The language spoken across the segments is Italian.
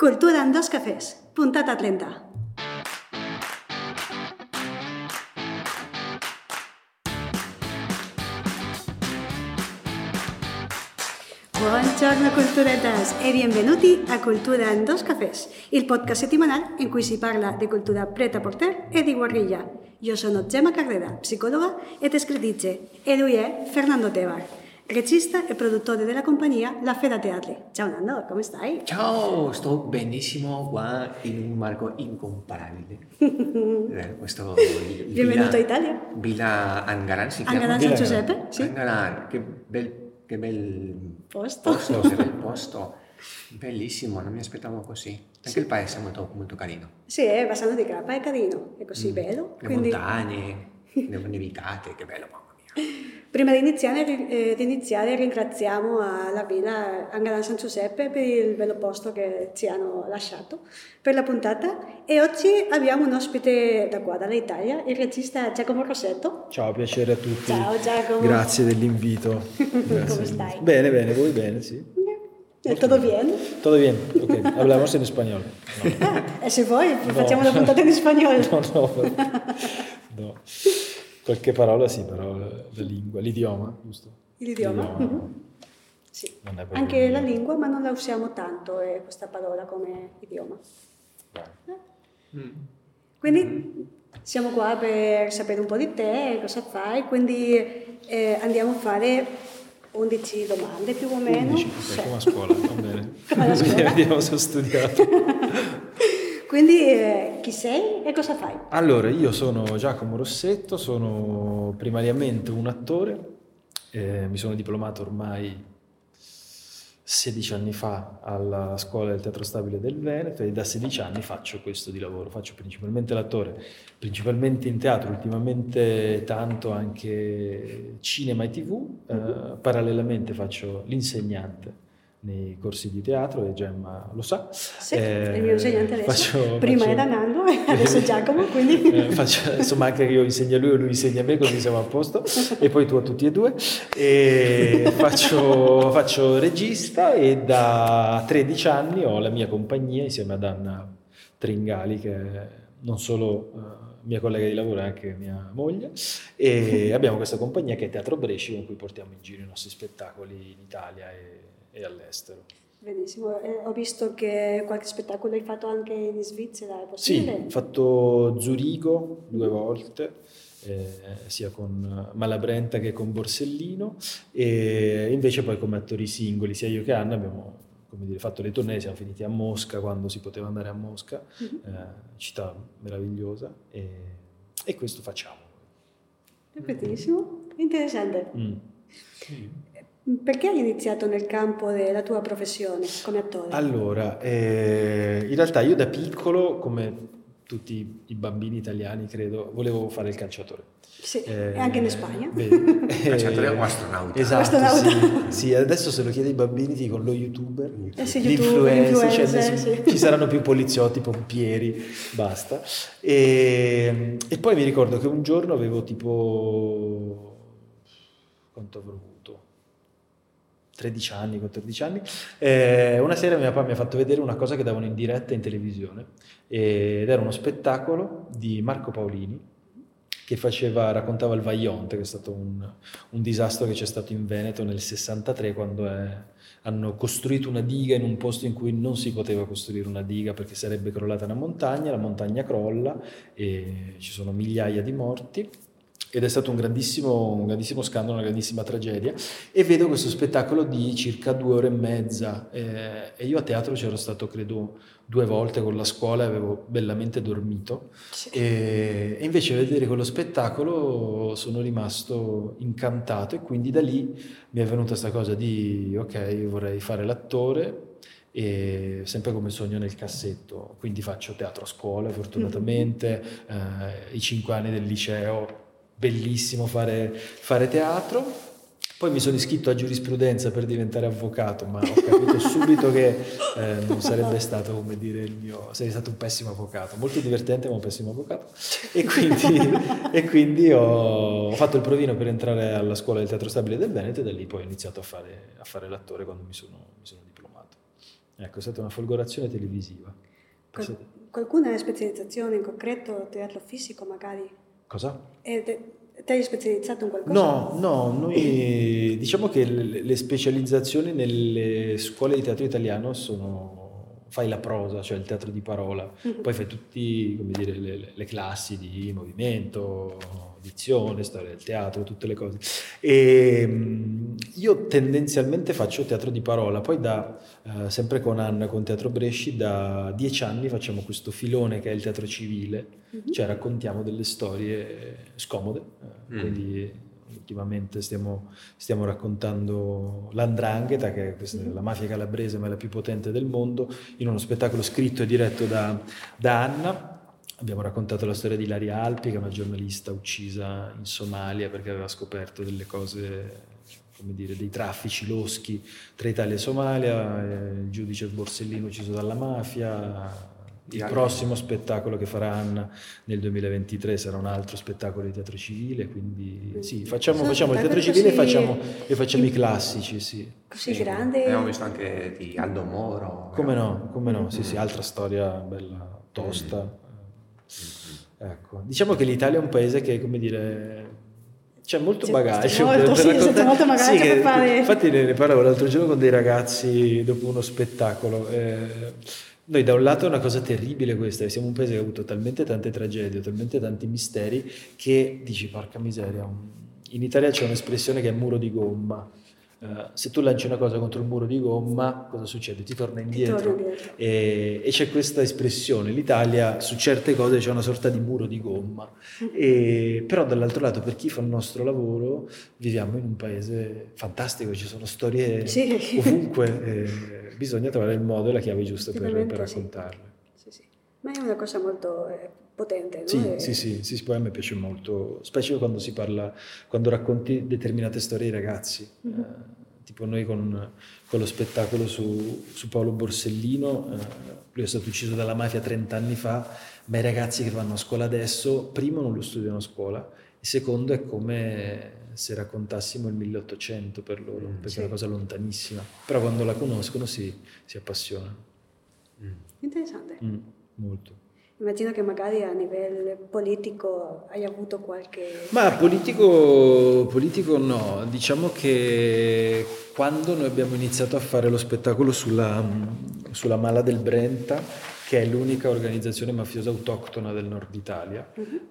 Cultura en dos cafés, puntata 30. Buongiorno culturetas e benvenuti a Cultura in dos cafés, il podcast settimanale in cui si parla di cultura pret-à-porter e di guerriglia. Io sono Gemma Carrera, psicologa ed scrittrice, e lui è Fernando Tebar, regista e produttore della compagnia La Fera Teatri. Ciao Nando, come stai? Ciao, sto benissimo qua in un marco incomparabile. Questo Benvenuto a Italia. Villa Angaran si chiama? Angaran San Giuseppe, sì. Angaran, che bel Posto. che bel posto. Bellissimo, non mi aspettavo così. Anche Sì. il paese è molto, molto carino. Sì, Bassano di Grappa è carino, è così bello. Le montagne, le nevicate, che bello, mamma mia. Prima di iniziare ringraziamo la Villa Angaran San Giuseppe per il bello posto che ci hanno lasciato per la puntata, e oggi abbiamo un ospite da qua, dall'Italia, il regista Giacomo Rossetto. Ciao, piacere a tutti. Ciao Giacomo. Grazie dell'invito. Come stai? Bene, voi bene, sí. ¿Todo bien? Todo bien, ok. Hablamos en español. No. Se vuoi, facciamo la puntata in spagnolo. No. Qualche parola sì, però la lingua, l'idioma, giusto? L'idioma? Mm-hmm. Sì. Anche la lingua, ma non la usiamo tanto questa parola come idioma. Quindi siamo qua per sapere un po' di te, cosa fai, quindi andiamo a fare 11 domande più o meno. 11, okay, come a scuola, va bene. Come a scuola. Vediamo se ho studiato. Quindi chi sei e cosa fai? Allora, io sono Giacomo Rossetto, sono primariamente un attore, mi sono diplomato ormai 16 anni fa alla Scuola del Teatro Stabile del Veneto, e da 16 anni faccio questo di lavoro, faccio principalmente l'attore, principalmente in teatro, ultimamente tanto anche cinema e TV, parallelamente faccio l'insegnante nei corsi di teatro, e Gemma lo sa. Sì, il mio insegnante adesso, prima faccio, era Nando e adesso Giacomo, quindi... insomma, anche io insegno a lui e lui insegna a me, così siamo a posto, e poi tu a tutti e due. E faccio regista, e da 13 anni ho la mia compagnia insieme ad Anna Tringali, che è non solo mia collega di lavoro, è anche mia moglie, e abbiamo questa compagnia che è Teatro Bresci, con cui portiamo in giro i nostri spettacoli in Italia e all'estero. Benissimo, ho visto che qualche spettacolo hai fatto anche in Svizzera, è possibile? Sì, ho fatto Zurigo 2 volte, sia con Malabrenta che con Borsellino, e invece poi come attori singoli, sia io che Anna abbiamo, come dire, fatto le tournée, siamo finiti a Mosca quando si poteva andare a Mosca, città meravigliosa, e questo facciamo. È bellissimo, interessante. Perché hai iniziato nel campo della tua professione come attore? Allora, in realtà io da piccolo, come tutti i bambini italiani credo, volevo fare il calciatore. Sì, e anche in Spagna. Calciatore o astronauta? Esatto, astronauta. sì, adesso se lo chiedi ai bambini ti dicono lo youtuber, Sì, l'influencer, influencer, sì. Ci saranno più poliziotti, pompieri, basta. E poi mi ricordo che un giorno avevo tipo, quanto avrò avuto? 13 anni, 14 anni, una sera mio papà mi ha fatto vedere una cosa che davano in diretta in televisione, ed era uno spettacolo di Marco Paolini che raccontava il Vajont, che è stato un disastro che c'è stato in Veneto nel 63, quando hanno costruito una diga in un posto in cui non si poteva costruire una diga perché sarebbe crollata una montagna, la montagna crolla e ci sono migliaia di morti. Ed è stato un grandissimo scandalo, una grandissima tragedia, e vedo questo spettacolo di circa 2 ore e mezza, e io a teatro c'ero stato credo 2 volte con la scuola e avevo bellamente dormito, sì. E invece vedere quello spettacolo sono rimasto incantato, e quindi da lì mi è venuta questa cosa di ok, vorrei fare l'attore, e sempre come sogno nel cassetto, quindi faccio teatro a scuola fortunatamente, i 5 anni del liceo, bellissimo fare teatro. Poi mi sono iscritto a giurisprudenza per diventare avvocato, ma ho capito subito che non sarebbe stato, come dire, sarei stato un pessimo avvocato, molto divertente ma un pessimo avvocato, e quindi ho fatto il provino per entrare alla Scuola del Teatro Stabile del Veneto, e da lì poi ho iniziato a fare l'attore quando mi sono diplomato. Ecco, è stata una folgorazione televisiva. Qualcuna specializzazione in concreto, teatro fisico magari? Cosa? Ti hai specializzato in qualcosa? No, noi diciamo che le specializzazioni nelle scuole di teatro italiano fai la prosa, cioè il teatro di parola, poi fai tutti, come dire, le classi di movimento, dizione, storia del teatro, tutte le cose. E io tendenzialmente faccio teatro di parola, poi sempre con Anna, con Teatro Bresci, da 10 anni facciamo questo filone che è il teatro civile, cioè raccontiamo delle storie scomode, quindi ultimamente stiamo raccontando l'Andrangheta, che è la mafia calabrese ma è la più potente del mondo, in uno spettacolo scritto e diretto da Anna. Abbiamo raccontato la storia di Ilaria Alpi, che è una giornalista uccisa in Somalia perché aveva scoperto delle cose, come dire, dei traffici loschi tra Italia e Somalia, il giudice Borsellino ucciso dalla mafia. Il prossimo spettacolo che farà Anna nel 2023 sarà un altro spettacolo di teatro civile, quindi sì, facciamo il teatro civile e facciamo i classici, sì. Così grande. Abbiamo visto anche di Aldo Moro. Come no, sì, altra storia bella tosta. Ecco, diciamo che l'Italia è un paese che, come dire, c'è molto bagaglio per raccontare. Molto bagaglio per fare. Infatti ne parlavo l'altro giorno con dei ragazzi dopo uno spettacolo. Noi da un lato è una cosa terribile questa, siamo un paese che ha avuto talmente tante tragedie, talmente tanti misteri, che dici porca miseria, in Italia c'è un'espressione che è muro di gomma. Se tu lanci una cosa contro il muro di gomma, cosa succede? Ti torna indietro. E c'è questa espressione, l'Italia su certe cose c'è una sorta di muro di gomma, però dall'altro lato per chi fa il nostro lavoro viviamo in un paese fantastico, ci sono storie ovunque, bisogna trovare il modo e la chiave giusta per raccontarle. Sì. Ma è una cosa molto potente, no? Sì, poi a me piace molto, specie quando racconti determinate storie ai ragazzi, tipo noi con lo spettacolo su Paolo Borsellino, lui è stato ucciso dalla mafia 30 anni fa, ma i ragazzi che vanno a scuola adesso, primo non lo studiano a scuola, e secondo è come se raccontassimo il 1800 per loro, perché è una cosa lontanissima, però quando la conoscono si appassionano. Interessante. Molto. Immagino che magari a livello politico hai avuto qualche... Ma politico no, diciamo che quando noi abbiamo iniziato a fare lo spettacolo sulla Mala del Brenta, che è l'unica organizzazione mafiosa autoctona del nord Italia,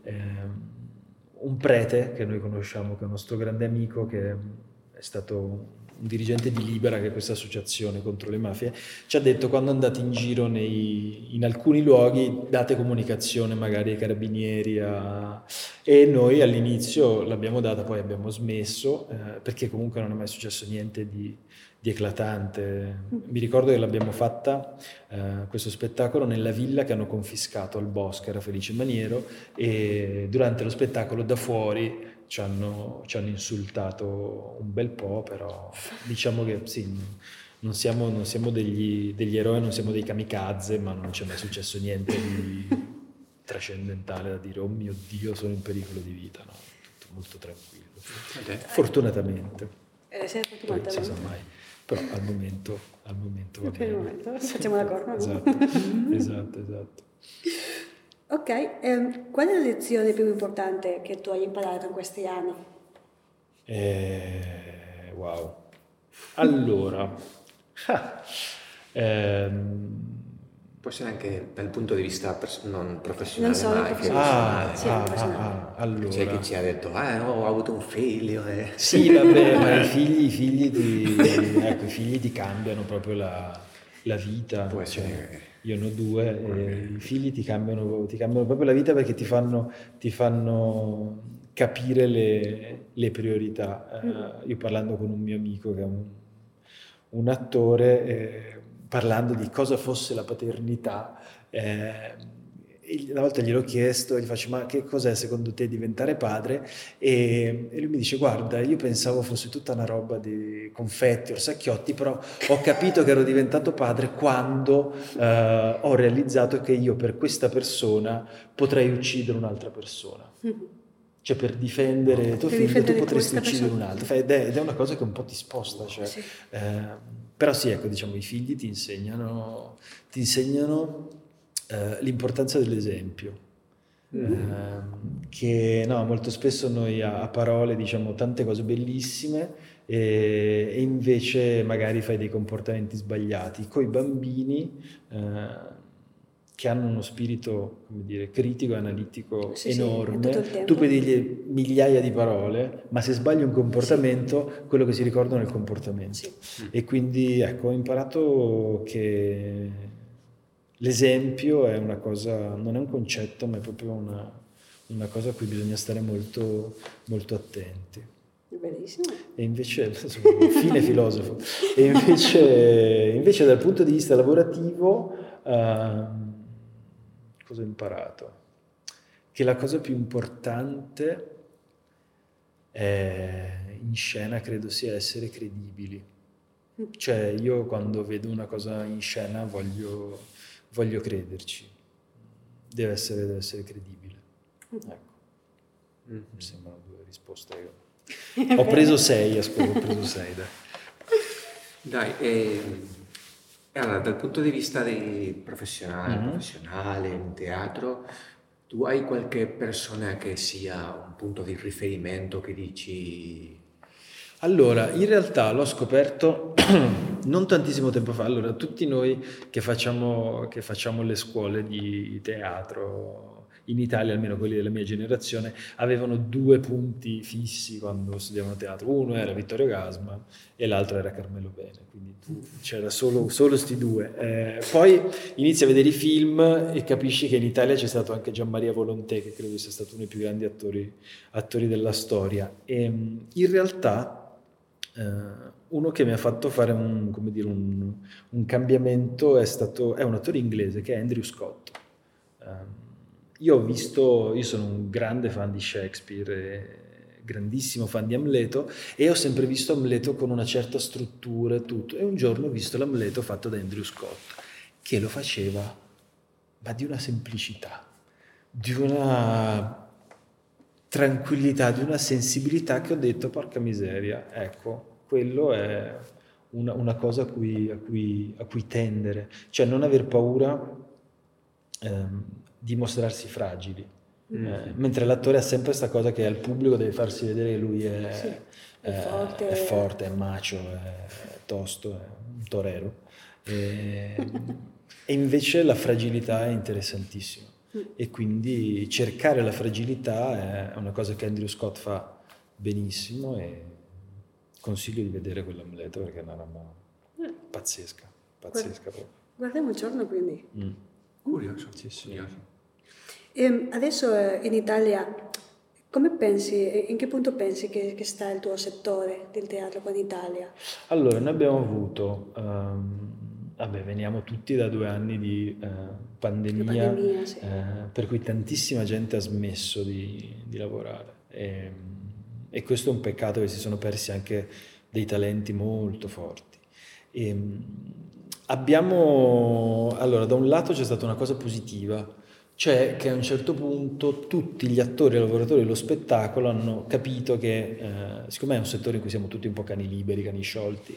un prete che noi conosciamo, che è un nostro grande amico, che è stato un dirigente di Libera, che è questa associazione contro le mafie, ci ha detto: quando andate in giro in alcuni luoghi date comunicazione magari ai carabinieri, e noi all'inizio l'abbiamo data, poi abbiamo smesso, perché comunque non è mai successo niente di eclatante. Mi ricordo che l'abbiamo fatta questo spettacolo nella villa che hanno confiscato al Bosco, era Felice Maniero, e durante lo spettacolo da fuori ci hanno insultato un bel po', però diciamo che sì, non siamo degli eroi, non siamo dei kamikaze, ma non c'è mai successo niente di trascendentale da dire oh mio Dio sono in pericolo di vita, no? Tutto molto tranquillo, fortunatamente. Poi non si sa mai, però al momento va per il bene. momento facciamo d'accordo. Esatto. Ok, qual è la lezione più importante che tu hai imparato in questi anni? Wow. Allora, può essere anche dal punto di vista non professionale, Non solo ma professionale. Allora. C'è chi ci ha detto, ho avuto un figlio. Sì, vabbè, ma i figli ti cambiano proprio la vita. Può essere. Io ne ho 2 e i figli ti cambiano proprio la vita, perché ti fanno capire le priorità. Io parlando con un mio amico che è un attore, parlando di cosa fosse la paternità, una volta gliel'ho chiesto, gli faccio: ma che cos'è secondo te diventare padre? E lui mi dice: guarda, io pensavo fosse tutta una roba di confetti, orsacchiotti, però ho capito che ero diventato padre quando ho realizzato che io per questa persona potrei uccidere un'altra persona. Cioè per difendere tuo Per figlio tu difendere potresti questa uccidere un persona. altro. Ed è una cosa che un po' ti sposta. Cioè, Sì. però sì, ecco, diciamo, i figli ti insegnano l'importanza dell'esempio. Che no, molto spesso noi a parole diciamo tante cose bellissime e invece magari fai dei comportamenti sbagliati. Coi bambini che hanno uno spirito, come dire, critico e analitico Sì, tutto enorme, il tempo. tu puoi dirgli migliaia di parole, ma se sbagli un comportamento, quello che si ricordano è il comportamento. Sì. E quindi ecco, ho imparato che l'esempio è una cosa, non è un concetto, ma è proprio una cosa a cui bisogna stare molto, molto attenti. Bellissimo. E invece, fine filosofo, e invece dal punto di vista lavorativo, cosa ho imparato? Che la cosa più importante in scena credo sia essere credibili. Cioè io quando vedo una cosa in scena voglio crederci, deve essere credibile. Ecco, mi sembrano due risposte. Ho preso 6, ascolta, ho preso 6. Dai, allora, dal punto di vista professionale, in teatro, tu hai qualche persona che sia un punto di riferimento che dici... Allora, in realtà l'ho scoperto non tantissimo tempo fa. Allora, tutti noi che facciamo le scuole di teatro in Italia, almeno quelli della mia generazione, avevano 2 punti fissi quando studiavano teatro. Uno era Vittorio Gassman e l'altro era Carmelo Bene, quindi c'era solo sti 2. Poi inizi a vedere i film e capisci che in Italia c'è stato anche Gianmaria Volonté, che credo sia stato uno dei più grandi attori della storia. E in realtà uno che mi ha fatto fare un cambiamento è un attore inglese che è Andrew Scott. Io sono un grande fan di Shakespeare, grandissimo fan di Amleto, e ho sempre visto Amleto con una certa struttura e tutto, e un giorno ho visto l'Amleto fatto da Andrew Scott, che lo faceva, ma di una semplicità, di una tranquillità, di una sensibilità che ho detto, porca miseria, ecco, quello è una cosa a cui tendere, cioè non aver paura di mostrarsi fragili, mentre l'attore ha sempre questa cosa che al pubblico deve farsi vedere che lui è forte, è macio, è tosto, è un torero, e invece la fragilità è interessantissima. E quindi cercare la fragilità è una cosa che Andrew Scott fa benissimo e consiglio di vedere quell'Amleto perché è una roba pazzesca proprio. Guardiamo il giorno quindi. Curioso. Sì. Curioso. Adesso in Italia, come pensi, in che punto pensi che sta il tuo settore del teatro qua in Italia? Allora, noi abbiamo avuto, veniamo tutti da 2 anni di pandemia, sì. per cui tantissima gente ha smesso di lavorare e questo è un peccato, che si sono persi anche dei talenti molto forti. Allora, da un lato c'è stata una cosa positiva, cioè che a un certo punto tutti gli attori e lavoratori dello spettacolo hanno capito che, siccome è un settore in cui siamo tutti un po' cani liberi, cani sciolti,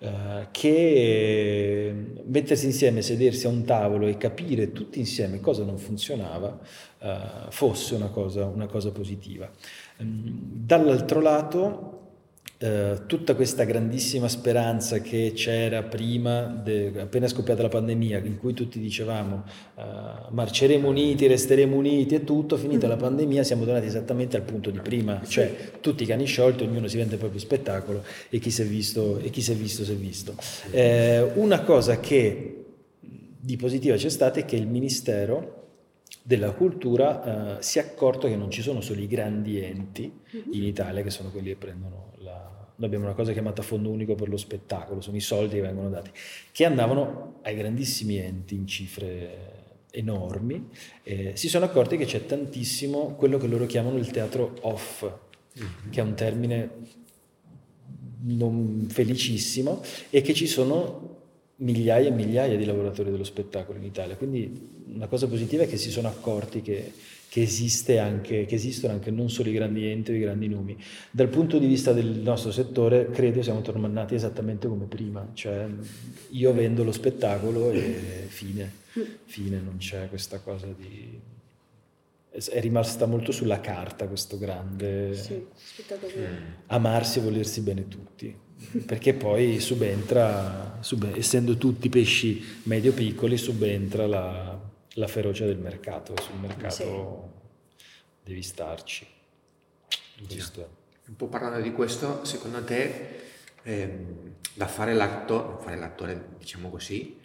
che mettersi insieme, sedersi a un tavolo e capire tutti insieme cosa non funzionava fosse una cosa positiva. Dall'altro lato, tutta questa grandissima speranza che c'era prima, appena scoppiata la pandemia, in cui tutti dicevamo marceremo uniti, resteremo uniti e tutto, finita la pandemia siamo tornati esattamente al punto di prima, cioè tutti i cani sciolti, ognuno si vende il proprio spettacolo e chi si è visto si è visto. Una cosa che di positiva c'è stata è che il Ministero della Cultura si è accorto che non ci sono solo i grandi enti in Italia che sono quelli che prendono noi abbiamo una cosa chiamata Fondo Unico per lo Spettacolo, sono i soldi che vengono dati, che andavano ai grandissimi enti in cifre enormi, si sono accorti che c'è tantissimo quello che loro chiamano il teatro off, che è un termine non felicissimo, e che ci sono migliaia e migliaia di lavoratori dello spettacolo in Italia, quindi una cosa positiva è che si sono accorti che esistono anche non solo i grandi enti o i grandi nomi. Dal punto di vista del nostro settore credo siamo tornati esattamente come prima, cioè io vendo lo spettacolo e fine, non c'è questa cosa di... È rimasta molto sulla carta questo grande amarsi e volersi bene tutti, perché poi subentra, essendo tutti pesci medio-piccoli, subentra la ferocia del mercato. Sul mercato devi starci. Giusto. Un po' parlando di questo, secondo te, da fare l'attore, diciamo così,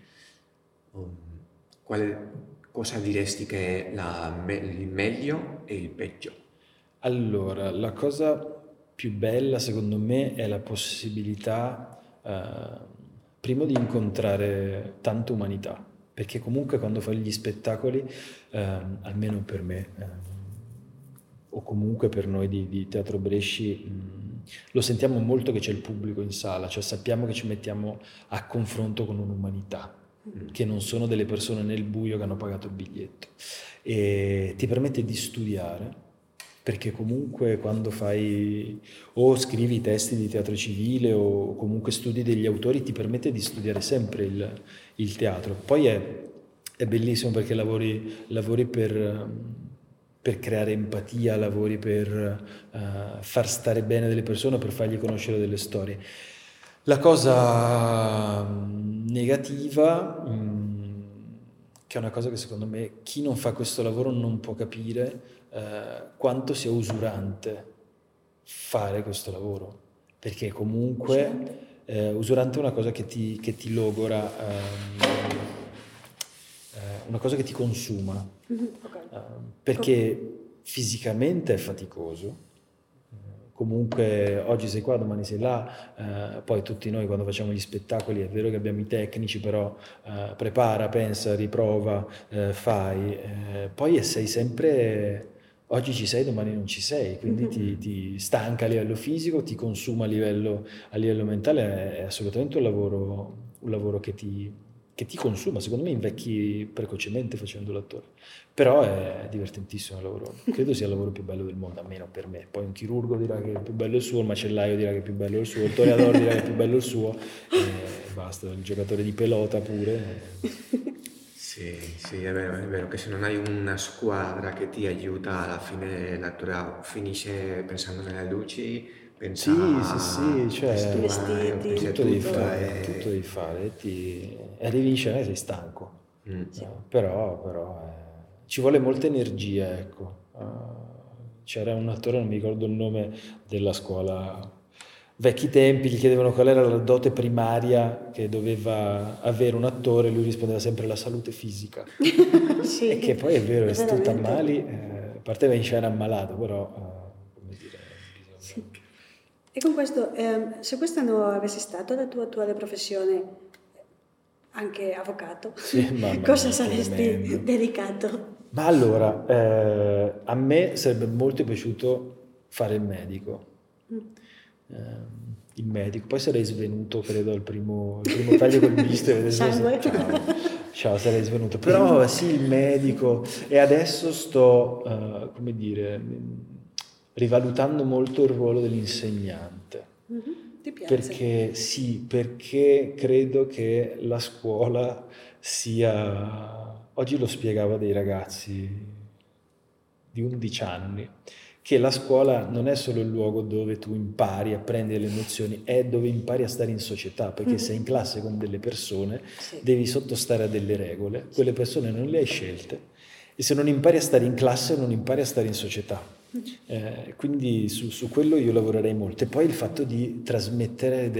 cosa diresti che è il meglio e il peggio? Allora, la cosa più bella secondo me è la possibilità, primo, di incontrare tanta umanità, perché comunque quando fai gli spettacoli, almeno per me, o comunque per noi di Teatro Bresci, lo sentiamo molto che c'è il pubblico in sala, cioè sappiamo che ci mettiamo a confronto con un'umanità, che non sono delle persone nel buio che hanno pagato il biglietto, e ti permette di studiare, perché comunque quando fai o scrivi i testi di teatro civile o comunque studi degli autori, ti permette di studiare sempre il teatro. Poi è bellissimo perché lavori per creare empatia, lavori per far stare bene delle persone, per fargli conoscere delle storie. La cosa negativa, che è una cosa che secondo me chi non fa questo lavoro non può capire, quanto sia usurante fare questo lavoro, perché comunque usurante è una cosa che ti logora, una cosa che ti consuma, perché fisicamente è faticoso. Comunque oggi sei qua, domani sei là, poi tutti noi quando facciamo gli spettacoli è vero che abbiamo i tecnici, però prepara, pensa, riprova, fai, poi sei sempre, oggi ci sei, domani non ci sei, quindi ti stanca a livello fisico, ti consuma a livello mentale, è assolutamente un lavoro che ti consuma. Secondo me invecchi precocemente facendo l'attore, però è divertentissimo il lavoro, credo sia il lavoro più bello del mondo, almeno per me. Poi un chirurgo dirà che il più bello è il suo, il macellaio dirà che il più bello è il suo, il toreador dirà che il più bello è il suo, e basta, il giocatore di pelota pure. Sì, è vero che se non hai una squadra che ti aiuta, alla fine l'attore finisce pensando nelle luci, pensa sì, cioè tutto devi fare, arrivi in scena e sei stanco, però ci vuole molta energia, ecco. C'era un attore, non mi ricordo il nome, della scuola, vecchi tempi, gli chiedevano qual era la dote primaria che doveva avere un attore, lui rispondeva sempre la salute fisica. Sì, e che poi è vero, se tu t'ammali, a parte va in scena ammalato, però come dire, sì. E con questo, se questa non avesse stato la tua attuale professione, anche avvocato, cosa saresti dedicato? Ma allora, a me sarebbe molto piaciuto fare il medico. Il medico, poi sarei svenuto, credo, al primo taglio col bisturi. Ciao, sarei svenuto. Però sì, il medico. E adesso sto, come dire, rivalutando molto il ruolo dell'insegnante. Ti piace? Perché credo che la scuola sia... Oggi lo spiegavo a dei ragazzi di 11 anni, che la scuola non è solo il luogo dove tu impari, apprendi le nozioni, è dove impari a stare in società, perché sei in classe con delle persone, devi sottostare a delle regole, quelle persone non le hai scelte, e se non impari a stare in classe non impari a stare in società. Quindi su quello io lavorerei molto. E poi il fatto di trasmettere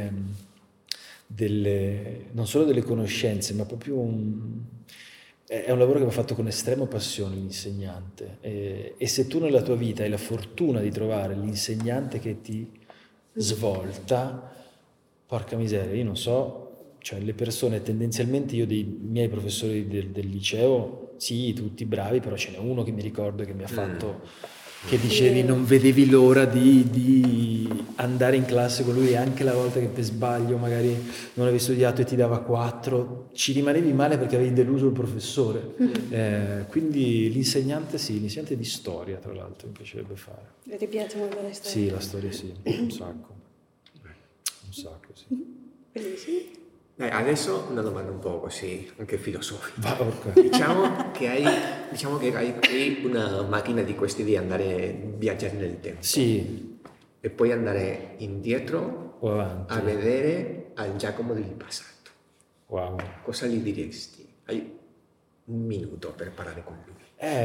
non solo delle conoscenze, ma proprio è un lavoro che va fatto con estrema passione, l'insegnante, e se tu nella tua vita hai la fortuna di trovare l'insegnante che ti svolta, porca miseria, io non so, cioè le persone tendenzialmente, io dei miei professori del liceo, sì, tutti bravi, però ce n'è uno che mi ricordo che mi ha fatto che dicevi non vedevi l'ora di andare in classe con lui, anche la volta che per sbaglio magari non avevi studiato e ti dava 4, ci rimanevi male perché avevi deluso il professore. Quindi l'insegnante di storia, tra l'altro, mi piacerebbe fare. E ti piace molto la storia? Sì, la storia sì, un sacco, sì. Bellissimo. Adesso una domanda un po' così, anche filosofica. Okay. Diciamo che hai una macchina di questi di andare viaggiare nel tempo. Sì. E puoi andare indietro O avanti. a vedere al Giacomo del passato. Wow. Cosa gli diresti? Hai un minuto per parlare con lui.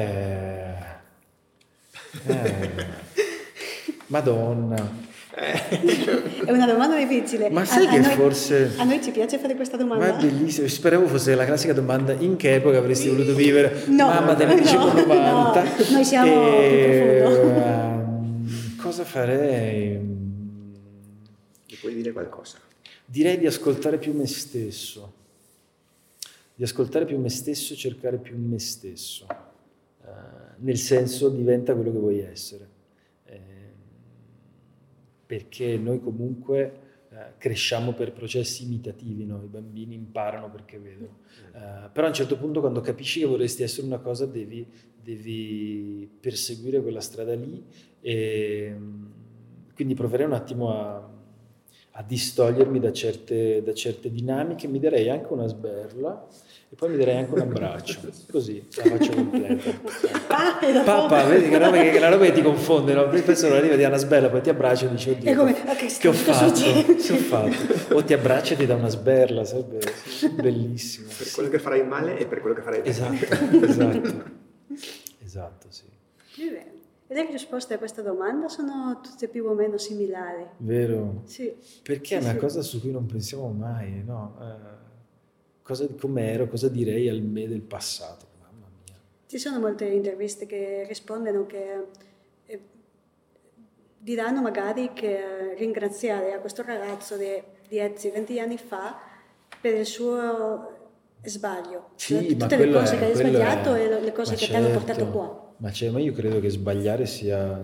Madonna. È una domanda difficile. Ma sai che forse... A noi ci piace fare questa domanda. Ma è bellissimo, speravo fosse la classica domanda: in che epoca avresti voluto vivere? No, Mamma, te ne dicevo 90. No, noi siamo più profondo. Cosa farei? Gli puoi dire qualcosa? Direi di ascoltare più me stesso. Di ascoltare più me stesso e cercare più me stesso. Nel senso, diventa quello che vuoi essere. Perché noi comunque cresciamo per processi imitativi, no? I bambini imparano perché vedono. Però a un certo punto, quando capisci che vorresti essere una cosa, devi perseguire quella strada lì, e quindi proverei un attimo a distogliermi da certe dinamiche. Mi darei anche una sberla e poi mi darei anche un abbraccio, così la faccio completa. Papà, vedi che la roba che ti confonde, no? Penso non arriva, ti dà una sberla, poi ti abbraccia e dici oddio, che ho fatto? O ti abbraccia e ti dà una sberla, sarebbe bellissimo. Per quello che farai male e per quello che farai bene. Esatto, sì. E le risposte a questa domanda sono tutte più o meno similari. Vero? Sì. Perché è una cosa su cui non pensiamo mai, no? Come ero, cosa direi al me del passato? Mamma mia. Ci sono molte interviste che rispondono che diranno magari che ringraziare a questo ragazzo di 10-20 anni fa per il suo sbaglio. Sì, tutte le cose che hai sbagliato e le cose che ti hanno portato qua. Ma io credo che sbagliare sia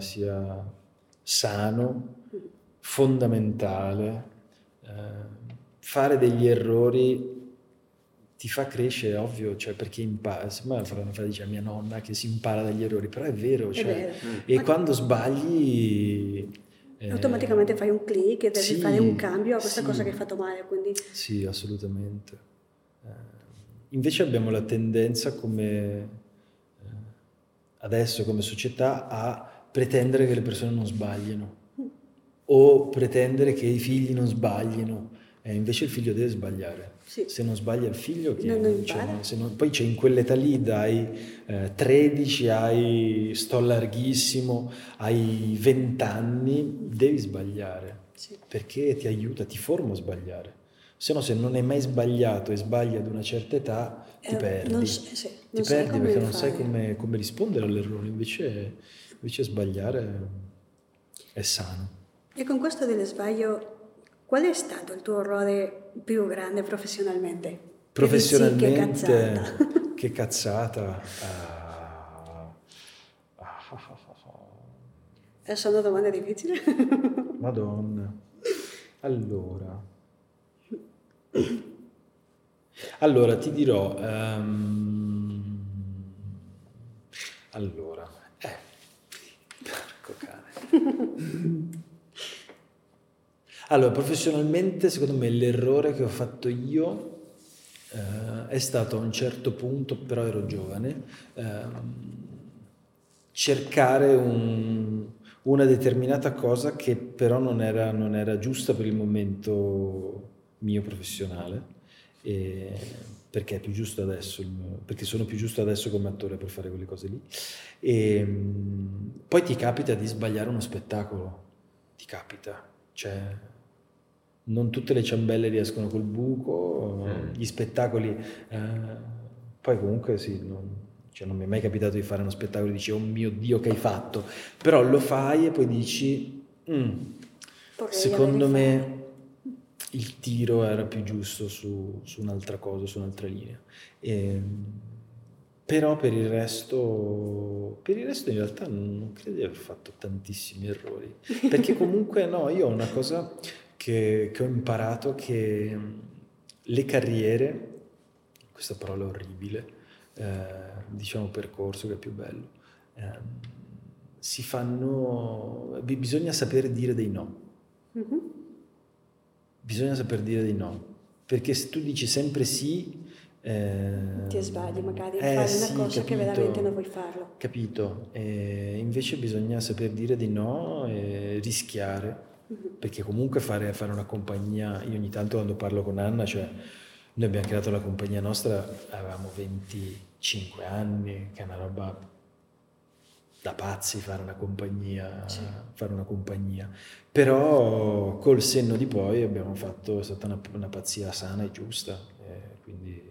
sano, fondamentale. Fare degli errori ti fa crescere, ovvio, cioè perché impara. Sembra una frase dice mia nonna che si impara dagli errori, però è vero, cioè, vero. E quando sbagli automaticamente fai un click e devi fare un cambio a questa cosa che hai fatto male, quindi... Sì, assolutamente. Invece abbiamo la tendenza adesso come società a pretendere che le persone non sbaglino o pretendere che i figli non sbaglino. Invece il figlio deve sbagliare. Sì. Se non sbaglia il figlio, poi c'è in quell'età lì, dai 13 sto larghissimo, ai 20 anni, devi sbagliare. Sì. Perché ti aiuta, ti forma a sbagliare. Se no, se non hai mai sbagliato e sbagli ad una certa età, ti perdi. Ti perdi perché non sai come rispondere all'errore. Invece sbagliare è sano. E con questo dello sbaglio, qual è stato il tuo errore più grande professionalmente? Professionalmente, che cazzata. Sono domande difficili? Madonna. Allora ti dirò. Porco cane. Allora, professionalmente, secondo me, l'errore che ho fatto io è stato a un certo punto, però ero giovane, cercare una determinata cosa che però non era giusta per il momento mio professionale, perché è più giusto adesso, perché sono più giusto adesso come attore per fare quelle cose lì. E poi ti capita di sbagliare uno spettacolo, ti capita, cioè non tutte le ciambelle riescono col buco, gli spettacoli, poi comunque sì, non mi è mai capitato di fare uno spettacolo e dici oh mio Dio che hai fatto, però lo fai e poi dici secondo me il tiro era più giusto su un'altra cosa, su un'altra linea, Però per il resto in realtà non credo di aver fatto tantissimi errori, perché comunque no, io ho una cosa che ho imparato, che le carriere, questa parola orribile, diciamo percorso che è più bello, si fanno, bisogna saper dire dei no. Bisogna saper dire dei no, perché se tu dici sempre sì, ti sbagli magari a fare sì, una cosa capito, che veramente non vuoi farlo. Capito? Invece bisogna saper dire di no e rischiare, perché comunque fare una compagnia, io ogni tanto quando parlo con Anna, cioè noi abbiamo creato la compagnia nostra, avevamo 25 anni, che è una roba da pazzi fare una compagnia, però col senno di poi abbiamo fatto, è stata una pazzia sana e giusta, quindi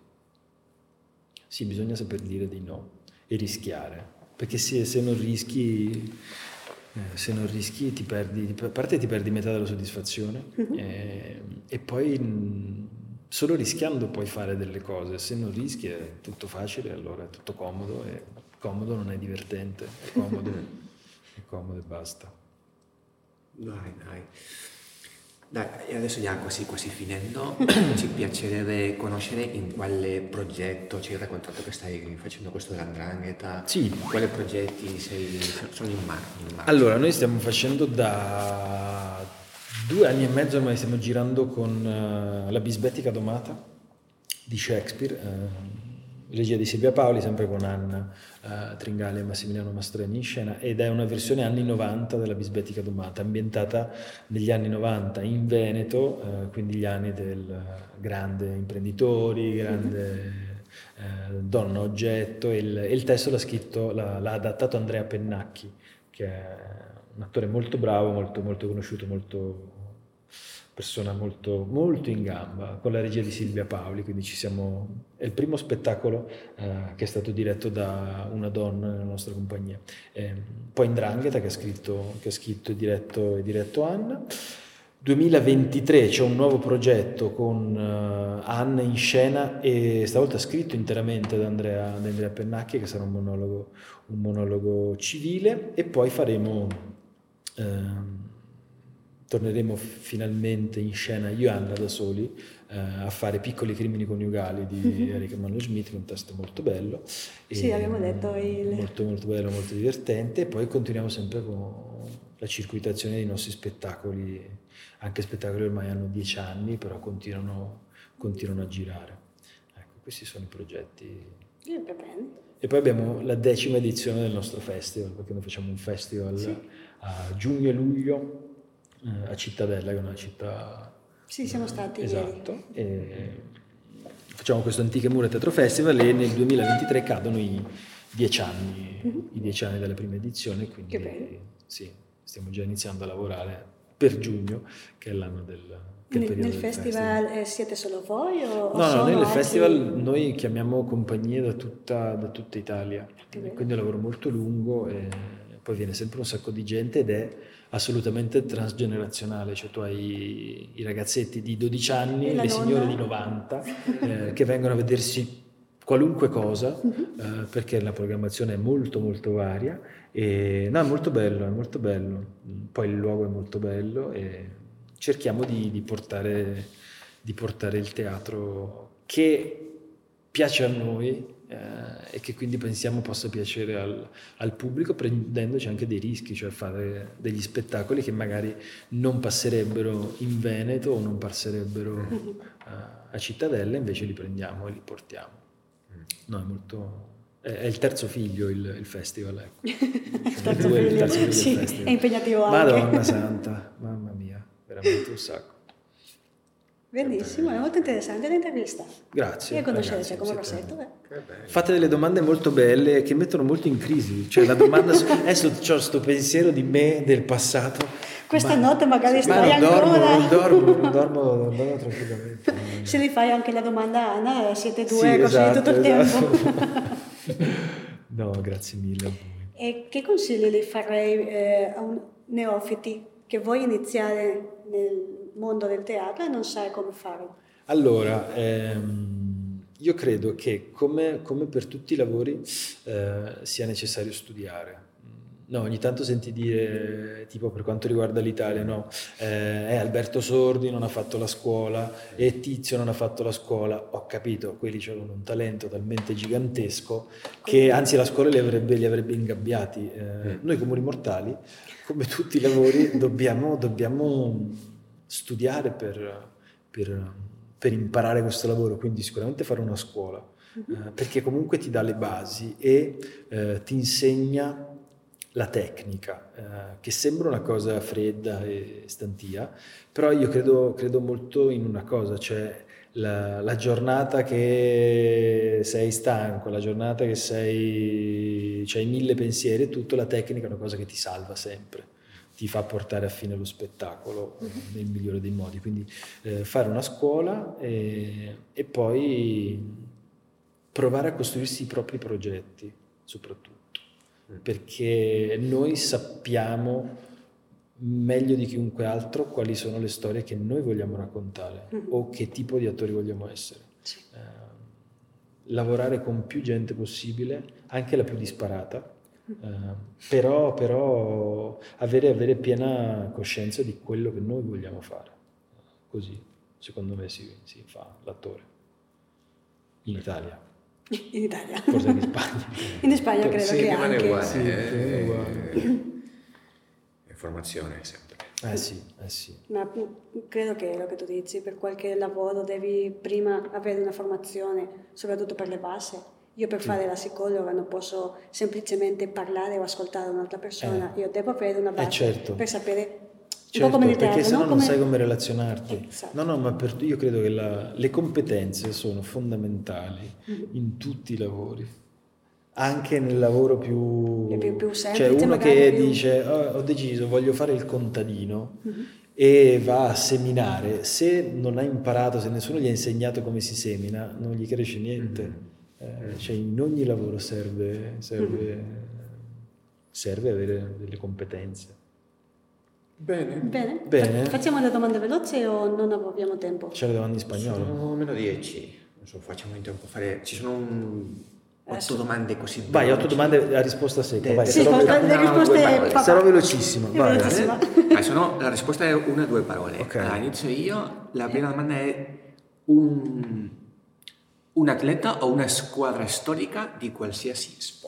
sì, bisogna saper dire di no e rischiare, perché se non rischi ti perdi, a parte ti perdi metà della soddisfazione, e poi solo rischiando puoi fare delle cose. Se non rischi è tutto facile, allora è tutto comodo, e comodo non è divertente, è comodo e basta. Dai, e adesso già quasi finendo, ci piacerebbe conoscere in quale progetto ci hai raccontato che stai facendo questo dell''ndrangheta. Sì. Quali progetti sono in marcia? Allora, noi stiamo facendo da 2 anni e mezzo, ormai stiamo girando con La bisbettica domata di Shakespeare, regia di Silvia Paoli, sempre con Anna Tringali e Massimiliano Mastroianni in scena, ed è una versione anni 90 della bisbettica domata, ambientata negli anni 90 in Veneto, quindi gli anni del grande imprenditori, grande donna oggetto, e il testo l'ha adattato Andrea Pennacchi, che è un attore molto bravo, molto, molto conosciuto, persona molto, molto in gamba, con la regia di Silvia Paoli, quindi è il primo spettacolo che è stato diretto da una donna nella nostra compagnia. Poi 'Ndrangheta, che ha scritto e diretto Anna. 2023 c'è un nuovo progetto con Anna in scena, e stavolta scritto interamente da Andrea Pennacchi, che sarà un monologo civile, e poi torneremo finalmente in scena io e Anna da soli a fare Piccoli crimini coniugali di Eric Emanuel Schmidt, che è un testo molto bello. Sì, abbiamo detto molto, molto bello, molto divertente, e poi continuiamo sempre con la circuitazione dei nostri spettacoli, anche spettacoli ormai hanno 10 anni, però continuano a girare. Ecco, questi sono i progetti. E poi abbiamo la 10ª edizione del nostro festival, perché noi facciamo un festival a giugno e luglio a Cittadella, che è una città... Sì, siamo stati esatto, e facciamo questo Antiche Mura Teatro Festival, e nel 2023 cadono i 10 anni dalla prima edizione, quindi che bello. Sì, stiamo già iniziando a lavorare per giugno, che è l'anno nel festival siete solo voi o No, nel festival noi chiamiamo compagnie da tutta Italia, quindi è un lavoro molto lungo, e poi viene sempre un sacco di gente, ed è assolutamente transgenerazionale, cioè tu hai i ragazzetti di 12 anni, le signore di 90 che vengono a vedersi qualunque cosa, perché la programmazione è molto molto varia, e no, è molto bello, poi il luogo è molto bello, e cerchiamo di portare il teatro che piace a noi, e che quindi pensiamo possa piacere al pubblico, prendendoci anche dei rischi, cioè fare degli spettacoli che magari non passerebbero in Veneto o non passerebbero a Cittadella, invece li prendiamo e li portiamo. No, è il terzo figlio il festival, ecco. il terzo figlio sì, del festival. È impegnativo anche. Madonna santa, mamma mia, veramente un sacco. Benissimo, è molto interessante l'intervista. Grazie. E conoscere Giacomo Rossetto. Fate delle domande molto belle che mettono molto in crisi. Cioè la domanda adesso ho questo pensiero di me del passato. Questa notte magari stai ancora. Non dormo tranquillamente. Se li fai anche la domanda a Anna, siete due così tutto il tempo. No, grazie mille a voi. E che consigli le farei a un neofiti che vuoi iniziare nel mondo del teatro e non sai come farlo? Allora, Io credo che come per tutti i lavori sia necessario studiare. No, ogni tanto senti dire, tipo per quanto riguarda l'Italia, no, Alberto Sordi non ha fatto la scuola e Tizio non ha fatto la scuola. Ho capito, quelli avevano un talento talmente gigantesco che anzi la scuola li avrebbe ingabbiati. Noi comuni mortali, come tutti i lavori, dobbiamo studiare per imparare questo lavoro, quindi sicuramente fare una scuola, perché comunque ti dà le basi e ti insegna la tecnica, che sembra una cosa fredda e stantia, però io credo molto in una cosa, cioè la giornata che sei stanco, la giornata che c'hai 1000 pensieri e tutto, la tecnica è una cosa che ti salva sempre, ti fa portare a fine lo spettacolo nel migliore dei modi, quindi fare una scuola e poi provare a costruirsi i propri progetti soprattutto, perché noi sappiamo meglio di chiunque altro quali sono le storie che noi vogliamo raccontare o che tipo di attori vogliamo essere. Sì. Lavorare con più gente possibile, anche la più disparata, però avere piena coscienza di quello che noi vogliamo fare. Così, secondo me, si fa l'attore. In Italia. In Italia. Forse in Spagna. In Spagna credo sì, che rimane anche. uguale. Sì, è uguale. Formazione sempre. Sì. Ma credo che lo che tu dici, per qualche lavoro devi prima avere una formazione, soprattutto per le basi. Io per fare la psicologa non posso semplicemente parlare o ascoltare un'altra persona, io devo avere una base certo. per sapere un Certo, po' come nel teatro, perché sennò no? non sai come relazionarti. Esatto. No, ma io credo che le competenze sono fondamentali in tutti i lavori, anche nel lavoro più semplice, cioè uno magari che più... dice ho deciso, voglio fare il contadino e va a seminare, se non ha imparato, se nessuno gli ha insegnato come si semina, non gli cresce niente. Cioè in ogni lavoro serve avere delle competenze. Bene. Facciamo le domande veloci o non abbiamo tempo? C'è le domande in spagnolo? Sono meno 10. Non so, facciamo in tempo a fare. Ci sono 8 domande così. Vai, 8 domande a risposta secca. Vai, Sì, le risposte sarò velocissimo. Vai. La risposta è 1 o 2 parole. Ok. Allora, inizio io. La prima domanda è un atleta o una squadra storica di qualsiasi sport.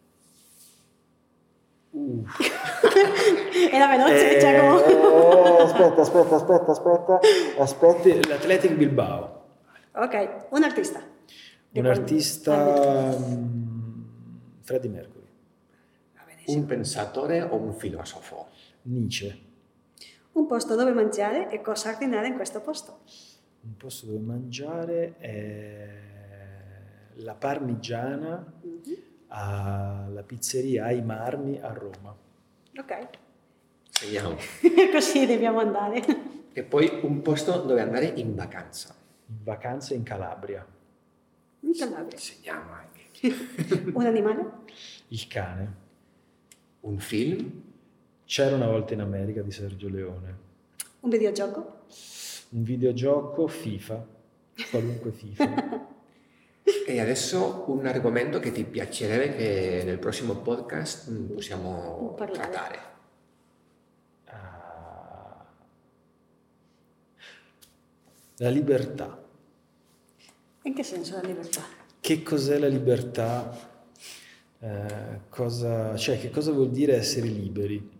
Era veloce, Giacomo. Aspetta. L'Athletic Bilbao. Ok, un artista. Un artista... Freddie Mercury. Un pensatore o un filosofo? Nietzsche. Un posto dove mangiare e cosa ordinare in questo posto. Un posto dove mangiare è la parmigiana alla pizzeria Ai Marmi a Roma. Ok. Segniamo. Così dobbiamo andare. E poi un posto dove andare in vacanza. In vacanza in Calabria. In Calabria. Segniamo anche. Un animale? Il cane. Un film? C'era una volta in America di Sergio Leone. Un videogioco? Un videogioco FIFA. Qualunque FIFA. E adesso un argomento che ti piacerebbe che nel prossimo podcast possiamo trattare. La libertà. In che senso la libertà? Che cos'è la libertà? Che cosa vuol dire essere liberi?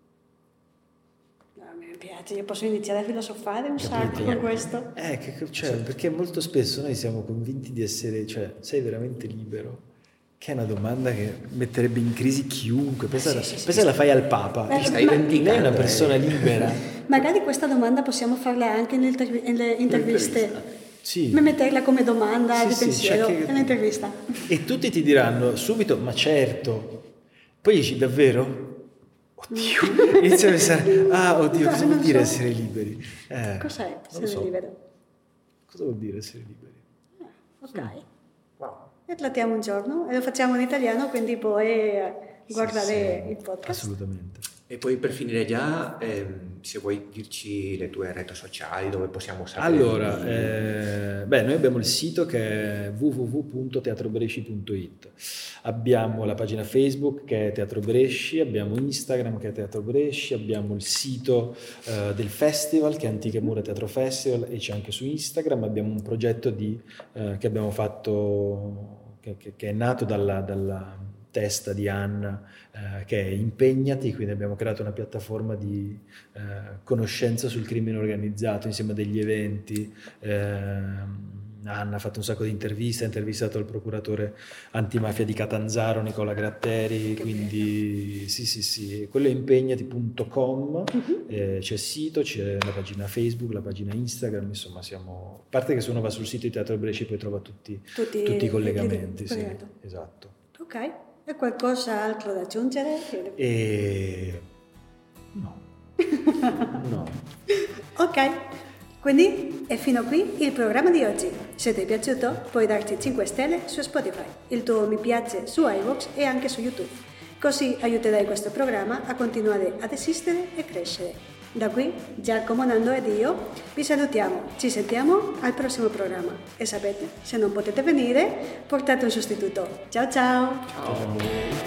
Mi piace, io posso iniziare a filosofare un sacco con questo. Perché molto spesso noi siamo convinti di essere, sei veramente libero? Che è una domanda che metterebbe in crisi chiunque. Pensa la fai al Papa. Stai vendicando. Lei è una persona libera. Magari questa domanda possiamo farla anche nelle interviste. Sì. Metterla come domanda di pensiero nell'intervista. E tutti ti diranno subito, ma certo. Poi dici, davvero? Oddio. Inizia a pensare, oddio, cosa vuol dire essere liberi? Cos'è essere libero? Cosa vuol dire essere liberi? Ok. Wow. E trattiamo un giorno e lo facciamo in italiano, quindi puoi guardare il podcast. Assolutamente. E poi per finire già, se vuoi dirci le tue reti sociali dove possiamo sapere. Allora, noi abbiamo il sito che è www.teatrobresci.it, abbiamo la pagina Facebook che è Teatro Bresci, abbiamo Instagram che è Teatro Bresci, abbiamo il sito del festival che è Antiche Mura Teatro Festival e c'è anche su Instagram, abbiamo un progetto che abbiamo fatto, che è nato dalla testa di Anna, che è Impegnati, quindi abbiamo creato una piattaforma di conoscenza sul crimine organizzato insieme a degli eventi. Anna ha fatto un sacco di interviste, ha intervistato il procuratore antimafia di Catanzaro, Nicola Gratteri, quindi sì, quello è impegnati.com, c'è il sito, c'è la pagina Facebook, la pagina Instagram, insomma a parte che se uno va sul sito di Teatro Bresci poi trova tutti i collegamenti. Sì, esatto. Ok, e qualcos'altro da aggiungere? No. No. Ok, quindi è fino qui il programma di oggi. Se ti è piaciuto puoi darci 5 stelle su Spotify, il tuo mi piace su iVoox e anche su YouTube. Così aiuterai questo programma a continuare ad esistere e crescere. Da qui, Giacomo, Nando ed io vi salutiamo, ci sentiamo al prossimo programma e sapete, se non potete venire, portate un sostituto. Ciao ciao! Ciao!